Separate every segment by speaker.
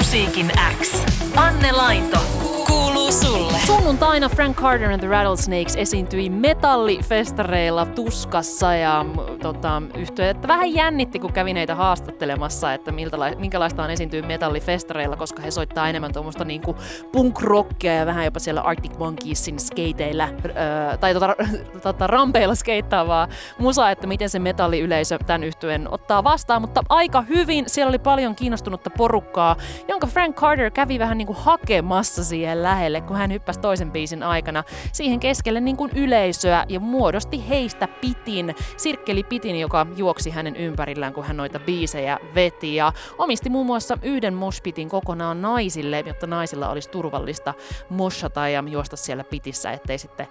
Speaker 1: Musiikin X. Anne Lainto. Kuuluu sulle.
Speaker 2: Sunnuntaina Frank Carter and the Rattlesnakes esiintyi metallifestareilla Tuskassa ja yhtye, että vähän jännitti, kun kävin heitä haastattelemassa, että minkälaista on esiintyä metallifestareilla, koska he soittaa enemmän tuommoista niinku punk-rockia ja vähän jopa siellä Arctic Monkeysin skateillä tai rampeilla skeittaavaa musaa, että miten se metalliyleisö tämän yhtyeen ottaa vastaan, mutta aika hyvin. Siellä oli paljon kiinnostunutta porukkaa, jonka Frank Carter kävi vähän niinku hakemassa siihen lähelle, kun hän hyppäsi toisen biisin aikana siihen keskelle niin kuin yleisöä ja muodosti heistä sirkkelipitin, joka juoksi hänen ympärillään, kun hän noita biisejä veti ja omisti muun muassa yhden moshpitin kokonaan naisille, jotta naisilla olisi turvallista moshata ja juosta siellä pitissä, ettei sitten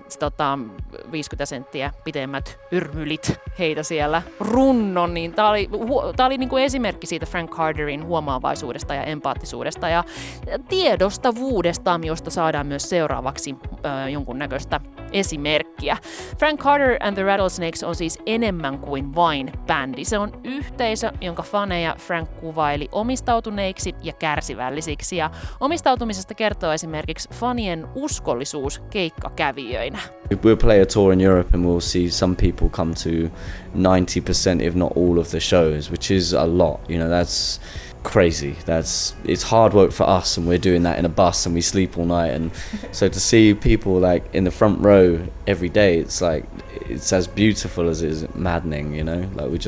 Speaker 2: 50 senttiä pitemmät yrmylit heitä siellä runnon, niin tää oli niin kuin esimerkki siitä Frank Carterin huomaavaisuudesta ja empaattisuudesta ja tiedostavuudesta, josta saadaan myös seuraavaksi jonkunnäköistä esimerkkiä. Frank Carter and the Rattlesnakes on siis enemmän kuin vain bändi. Se on yhteisö, jonka faneja Frank kuvaili omistautuneiksi ja kärsivällisiksi. Ja omistautumisesta kertoo esimerkiksi fanien uskollisuus keikkakävijöinä.
Speaker 3: We'll play a tour in Europe and we'll see some people come to 90% if not all of the shows, which is a lot. You know, that's crazy. It's hard work for us, and we're doing that in a bus and we sleep all night, and so to see people like in the front row every day, it's as beautiful as it is maddening, you know. Like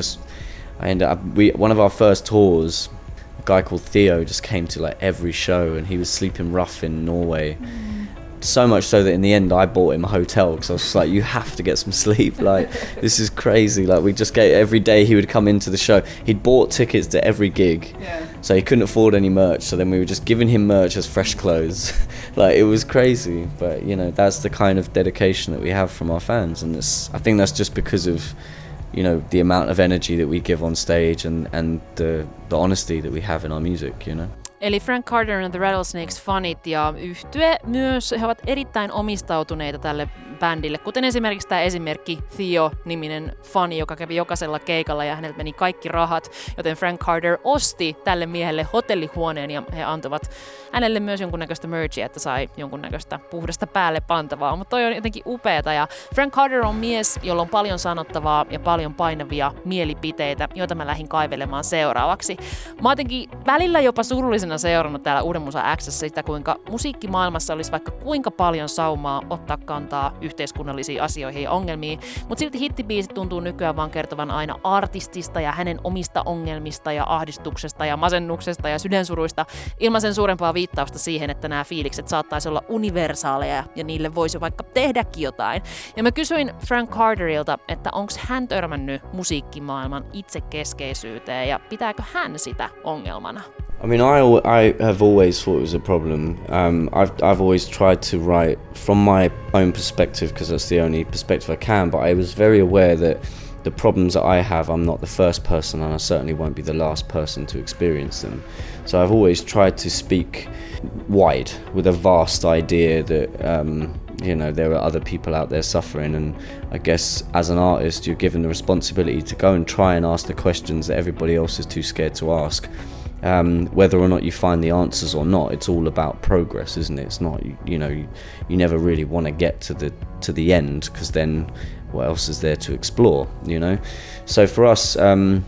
Speaker 3: one of our first tours, a guy called Theo just came to like every show, and he was sleeping rough in Norway. So much so that in the end I bought him a hotel because I was just like, you have to get some sleep, like this is crazy. Like we just every day he would come into the show. He'd bought tickets to every gig, so he couldn't afford any merch, so then we were just giving him merch as fresh clothes. Like it was crazy, but you know, that's the kind of dedication that we have from our fans, and I think that's just because of, you know, the amount of energy that we give on stage and the honesty that we have in our music, you know.
Speaker 2: Eli Frank Carter and the Rattlesnakes fanit ja yhtye myös, he ovat erittäin omistautuneita tälle bändille, kuten esimerkiksi tämä esimerkki Theo-niminen fani, joka kävi jokaisella keikalla ja häneltä meni kaikki rahat, joten Frank Carter osti tälle miehelle hotellihuoneen ja he antoivat hänelle myös jonkunnäköistä merchia, että sai jonkunnäköistä puhdasta päälle pantavaa, mutta toi on jotenkin upeata ja Frank Carter on mies, jolla on paljon sanottavaa ja paljon painavia mielipiteitä, joita mä lähdin kaivelemaan seuraavaksi. Mä jotenkin välillä jopa surullisena seurannut täällä Uuden Musa X:ssä sitä, kuinka musiikkimaailmassa olisi vaikka kuinka paljon saumaa ottaa kantaa yhteiskunnallisiin asioihin ja ongelmiin, mutta silti hittibiisit tuntuu nykyään vaan kertovan aina artistista ja hänen omista ongelmista ja ahdistuksesta ja masennuksesta ja sydänsuruista ilman sen suurempaa viittausta siihen, että nämä fiilikset saattaisi olla universaaleja ja niille voisi vaikka tehdäkin jotain. Ja mä kysyin Frank Carterilta, että onko hän törmännyt musiikkimaailman itsekeskeisyyteen ja pitääkö hän sitä ongelmana?
Speaker 3: I mean, I have always thought it was a problem. I've always tried to write from my own perspective because that's the only perspective I can, but I was very aware that the problems that I have, I'm not the first person and I certainly won't be the last person to experience them. So I've always tried to speak wide with a vast idea that, you know, there are other people out there suffering, and I guess as an artist you're given the responsibility to go and try and ask the questions that everybody else is too scared to ask. Whether or not you find the answers or not, it's all about progress, isn't it? It's not, you know, you never really want to get to the end, because then what else is there to explore, you know? So for us,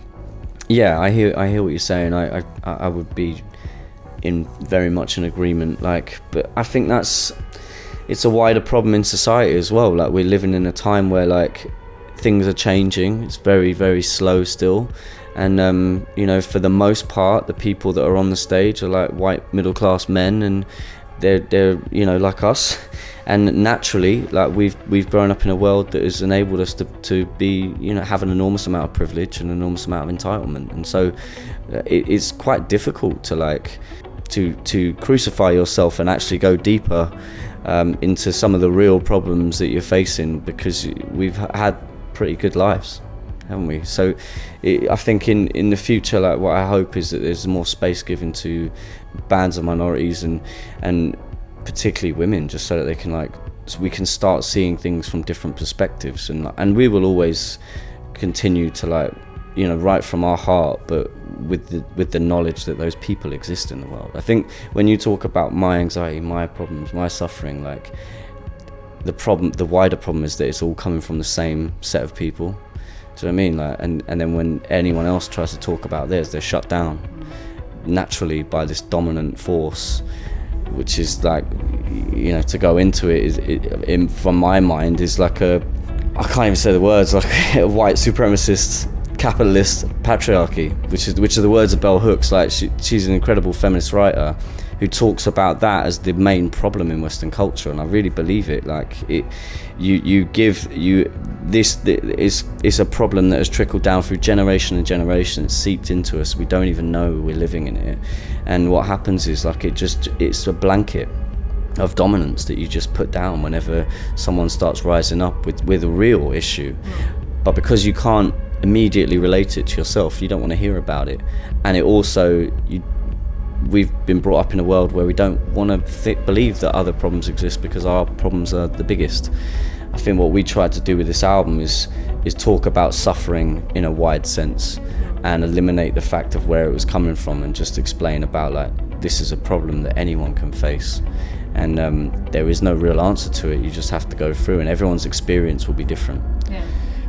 Speaker 3: yeah, I hear what you're saying. I would be in very much in agreement. But I think it's a wider problem in society as well. Like we're living in a time where like things are changing. It's very, very slow still. And, you know, for the most part, the people that are on the stage are like white middle-class men, and they're you know, like us. And naturally, like we've grown up in a world that has enabled us to be, you know, have an enormous amount of privilege and an enormous amount of entitlement. And so it's quite difficult to like to crucify yourself and actually go deeper into some of the real problems that you're facing, because we've had pretty good lives, haven't we? So I think in the future, like what I hope is that there's more space given to bands of minorities and particularly women, just so that they can so we can start seeing things from different perspectives, and we will always continue to write from our heart, but with the knowledge that those people exist in the world. I think when you talk about my anxiety, my problems, my suffering, like the wider problem is that it's all coming from the same set of people. Do you know what I mean? Like, and then when anyone else tries to talk about theirs, they're shut down naturally by this dominant force, which is like, you know, to go into it is, from my mind, is like I can't even say the words, like a white supremacist, capitalist patriarchy, which are the words of Bell Hooks. Like she's an incredible feminist writer who talks about that as the main problem in Western culture, and I really believe it. Like it's a problem that has trickled down through generation and generation. It's seeped into us. We don't even know we're living in it, and what happens is like it's a blanket of dominance that you just put down whenever someone starts rising up with a real issue. But because you can't immediately relate it to yourself, you don't want to hear about it. And it also, we've been brought up in a world where we don't want to believe that other problems exist because our problems are the biggest. I think what we tried to do with this album is talk about suffering in a wide sense and eliminate the fact of where it was coming from, and just explain about like, this is a problem that anyone can face, and there is no real answer to it. You just have to go through, and everyone's experience will be different.
Speaker 2: Yeah.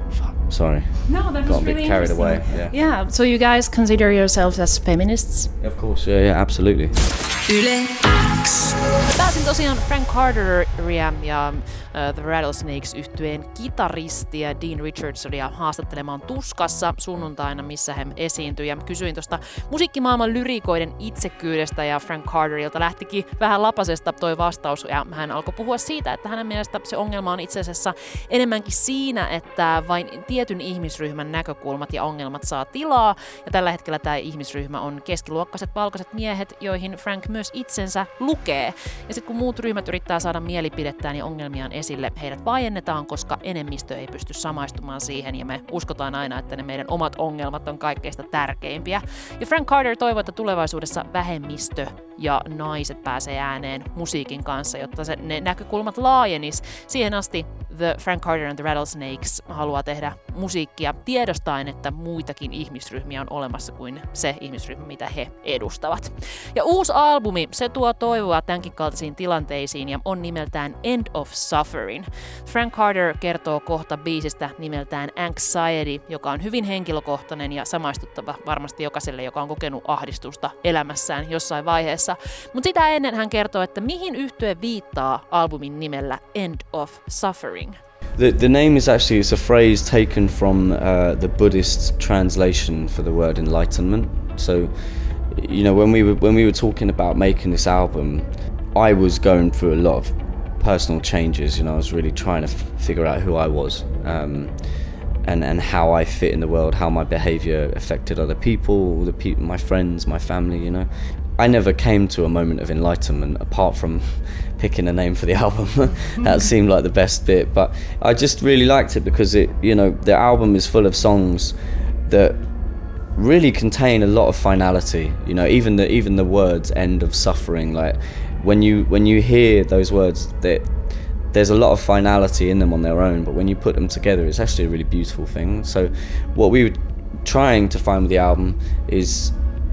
Speaker 3: Sorry.
Speaker 2: No, that
Speaker 3: got
Speaker 2: was
Speaker 3: a bit
Speaker 2: really
Speaker 3: carried away.
Speaker 2: Yeah. Yeah. So you guys consider yourselves as feminists?
Speaker 3: Of course. Yeah, absolutely.
Speaker 1: Yle X.
Speaker 2: Pääsin tosiaan Frank Carteria ja The Rattlesnakes-yhtyeen kitaristia Dean Richardsonia haastattelemaan Tuskassa sunnuntaina, missä he esiintyi. Ja kysyin tuosta musiikkimaailman lyrikoiden itsekyydestä, ja Frank Carterilta lähtikin vähän lapasesta toi vastaus, ja hän alkoi puhua siitä, että hänen mielestä se ongelma on itse asiassa enemmänkin siinä, että vain tietyn ihmisryhmän näkökulmat ja ongelmat saa tilaa, ja tällä hetkellä tämä ihmisryhmä on keskiluokkaiset valkoiset miehet, joihin Frank myös itsensä lukee. Ja sitten kun muut ryhmät yrittää saada mielipidettään ja ongelmiaan esille, heidät vaiennetaan, koska enemmistö ei pysty samaistumaan siihen, ja me uskotaan aina, että ne meidän omat ongelmat on kaikkeista tärkeimpiä. Ja Frank Carter toivoo, että tulevaisuudessa vähemmistö ja naiset pääsee ääneen musiikin kanssa, jotta ne näkökulmat laajenis. Siihen asti The Frank Carter and the Rattlesnakes haluaa tehdä musiikkia tiedostaen, että muitakin ihmisryhmiä on olemassa kuin se ihmisryhmä, mitä he edustavat. Ja uusi albumi, se tuo toivoa tämänkin kaltaisiin tilanteisiin ja on nimeltään End of Suffering. Frank Carter kertoo kohta biisistä nimeltään Anxiety, joka on hyvin henkilökohtainen ja samaistuttava varmasti jokaiselle, joka on kokenut ahdistusta elämässään jossain vaiheessa. Mutta sitä ennen hän kertoo, että mihin yhtye viittaa albumin nimellä End of Suffering.
Speaker 3: The name is actually, it's a phrase taken from the Buddhist translation for the word enlightenment. So, you know, when we were talking about making this album, I was going through a lot of personal changes. You know, I was really trying to figure out who I was, and how I fit in the world, how my behaviour affected other people, my friends, my family. You know, I never came to a moment of enlightenment apart from picking a name for the album. That seemed like the best bit, but I just really liked it because it, you know, the album is full of songs that really contain a lot of finality. You know, even the words "end of suffering," like when you hear those words, there's a lot of finality in them on their own, but when you put them together, it's actually a really beautiful thing. So what we were trying to find with the album is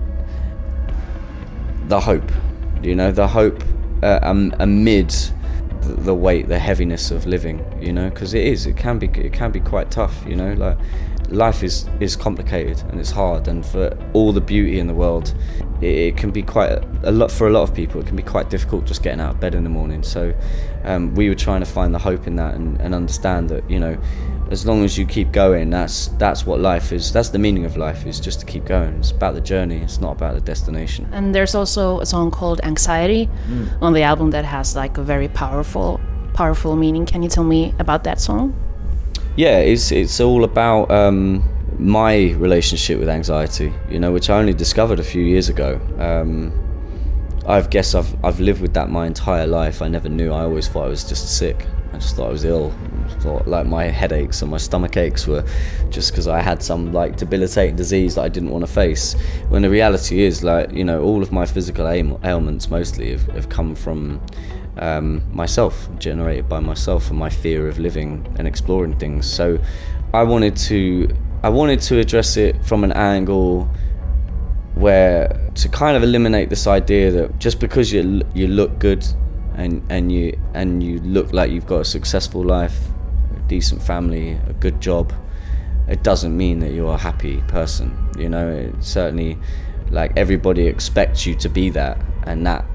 Speaker 3: the hope, you know, the hope amid the weight, the heaviness of living, you know, because it can be quite tough, you know, like life is complicated and it's hard, and for all the beauty in the world, it can be quite a lot for a lot of people. It can be quite difficult just getting out of bed in the morning. So we were trying to find the hope in that, and understand that, you know, as long as you keep going, that's what life is. That's the meaning of life, is just to keep going. It's about the journey. It's not about the destination.
Speaker 2: And there's also a song called Anxiety on the album that has like a very powerful meaning. Can you tell me about that song?
Speaker 3: Yeah, it's all about my relationship with anxiety, you know, which I only discovered a few years ago. I've lived with that my entire life. I never knew. I always thought I was just sick. I just thought I was ill. I thought like my headaches and my stomach aches were just because I had some like debilitating disease that I didn't want to face. When the reality is, like, you know, all of my physical ailments mostly have come from myself, generated by myself and my fear of living and exploring things. So I wanted to address it from an angle where to kind of eliminate this idea that just because you look good and you look like you've got a successful life, a decent family, a good job, it doesn't mean that you're a happy person. You know, it certainly, like, everybody expects you to be that, and that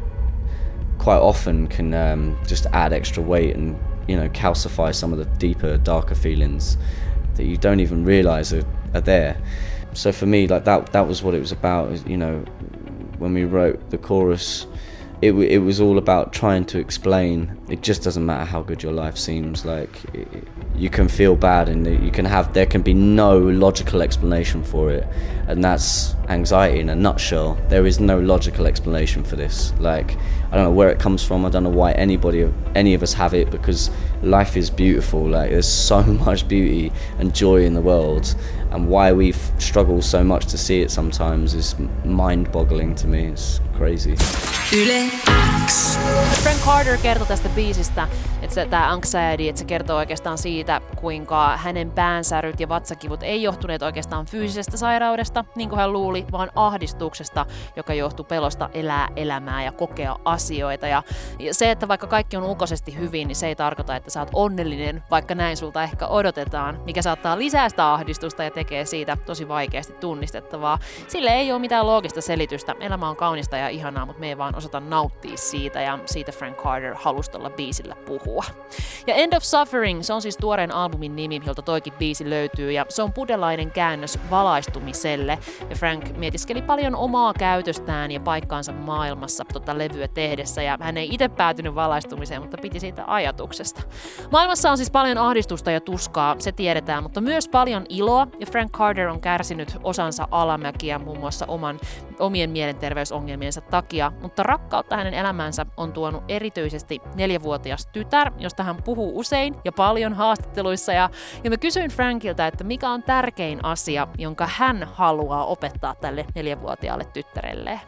Speaker 3: quite often can just add extra weight and, you know, calcify some of the deeper, darker feelings that you don't even realize are there. So for me, like, that was what it was about. You know, when we wrote the chorus, it was all about trying to explain it just doesn't matter how good your life seems. Like, you can feel bad, and there can be no logical explanation for it, and that's anxiety in a nutshell. There is no logical explanation for this. Like, I don't know where it comes from. I don't know why any of us have it, because life is beautiful. Like, there's so much beauty and joy in the world, and why we struggle so much to see it sometimes is mind-boggling to me. It's crazy.
Speaker 1: Yle X.
Speaker 2: Frank Carter kertoi tästä biisistä, että tämä anxiety, että se kertoo oikeastaan siitä, kuinka hänen päänsäryt ja vatsakivut ei johtuneet oikeastaan fyysisestä sairaudesta, niin kuin hän luuli, vaan ahdistuksesta, joka johtuu pelosta elää elämää ja kokea asioita. Ja se, että vaikka kaikki on ulkoisesti hyvin, niin se ei tarkoita, että sä oot onnellinen, vaikka näin sulta ehkä odotetaan, mikä saattaa lisää sitä ahdistusta ja tekee siitä tosi vaikeasti tunnistettavaa. Sille ei ole mitään loogista selitystä. Elämä on kaunista ja ihanaa, mutta me ei vaan osata nauttia siitä, ja siitä Frank Carter halusi tuolla biisillä puhua. Ja End of Suffering, se on siis tuoreen albumin nimi, jolta toikin biisi löytyy, ja se on buddhalainen käännös valaistumiselle. Ja Frank mietiskeli paljon omaa käytöstään ja paikkaansa maailmassa levyä tehdessä, ja hän ei itse päätynyt valaistumiseen, mutta piti siitä ajatuksesta. Maailmassa on siis paljon ahdistusta ja tuskaa, se tiedetään, mutta myös paljon iloa, ja Frank Carter on kärsinyt osansa alamäkiä muun muassa omien mielenterveysongelmiensa takia, mutta rakkautta hänen elämänsä on tuonut erityisesti 4-vuotias tytär, josta hän puhuu usein ja paljon haastatteluissa, ja mä kysyin Frankilta, että mikä on tärkein asia, jonka hän haluaa opettaa tälle 4-vuotiaalle tyttärelle.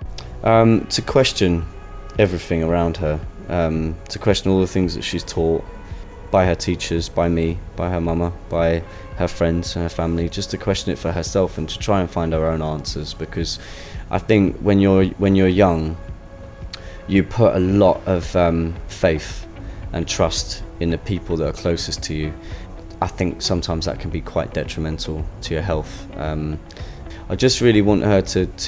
Speaker 3: To question everything around her, to question all the things that she's taught by her teachers, by me, by her mama, by her friends and her family, just to question it for herself and to try and find her own answers. Because I think when you're young, you put a lot of faith and trust in the people that are closest to you. I think sometimes that can be quite detrimental to your health. I just really want her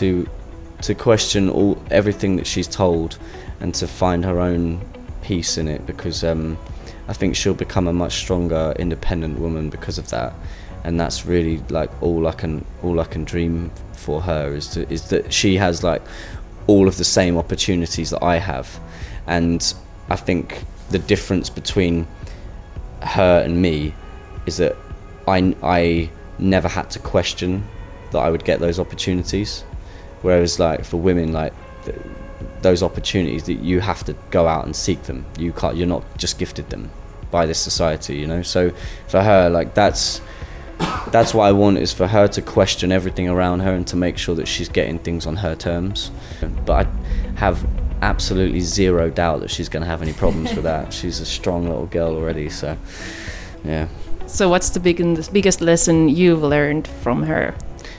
Speaker 3: to question everything that she's told and to find her own peace in it, because I think she'll become a much stronger, independent woman because of that. And that's really, like, all I can dream for her is that she has, like, all of the same opportunities that I have. And I think the difference between her and me is that I never had to question that I would get those opportunities, whereas, like, for women, like, those opportunities, that you have to go out and seek them. You're not just gifted them by this society, you know. So for her, like, that's what I want, is for her to question everything around her and to make sure that she's getting things on her terms. But I have absolutely zero doubt that she's going to have any problems with that. She's a strong little girl already, so yeah.
Speaker 2: So what's the biggest lesson you've learned from her?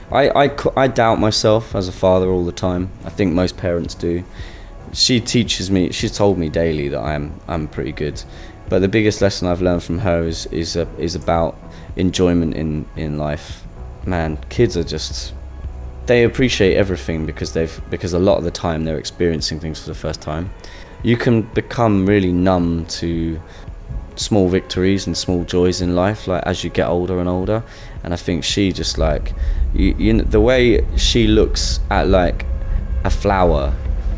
Speaker 3: I doubt myself as a father all the time. I think most parents do. She teaches me, she's told me daily that I'm pretty good. But the biggest lesson I've learned from her is about enjoyment in life. Man, kids are just, they appreciate everything because a lot of the time they're experiencing things for the first time. You can become really numb to small victories and small joys in life, like, as you get older and older. And I think she just, like, you know, the way she looks at, like, a flower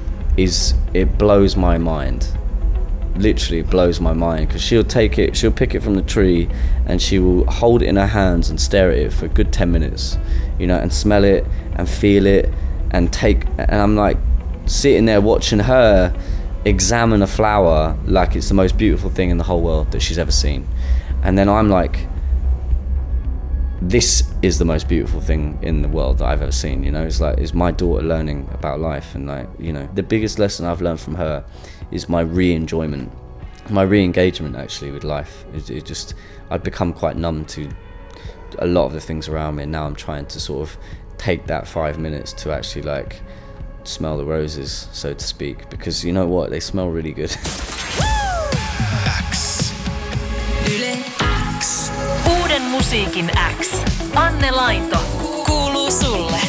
Speaker 3: it blows my mind. Literally, it blows my mind, because she'll pick it from the tree and she will hold it in her hands and stare at it for a good 10 minutes, you know, and smell it and feel it and I'm like sitting there watching her examine a flower like it's the most beautiful thing in the whole world that she's ever seen. And then I'm like, this is the most beautiful thing in the world that I've ever seen, you know. It's like, it's my daughter learning about life, and, like, you know, the biggest lesson I've learned from her is my re-engagement actually with life. It just, I'd become quite numb to a lot of the things around me, and now I'm trying to sort of take that 5 minutes to actually like smell the roses, so to speak, because you know what, they smell really good.
Speaker 1: X. Yle X. Uuden musiikin X. Anne Lainto. Kuuluu sulle.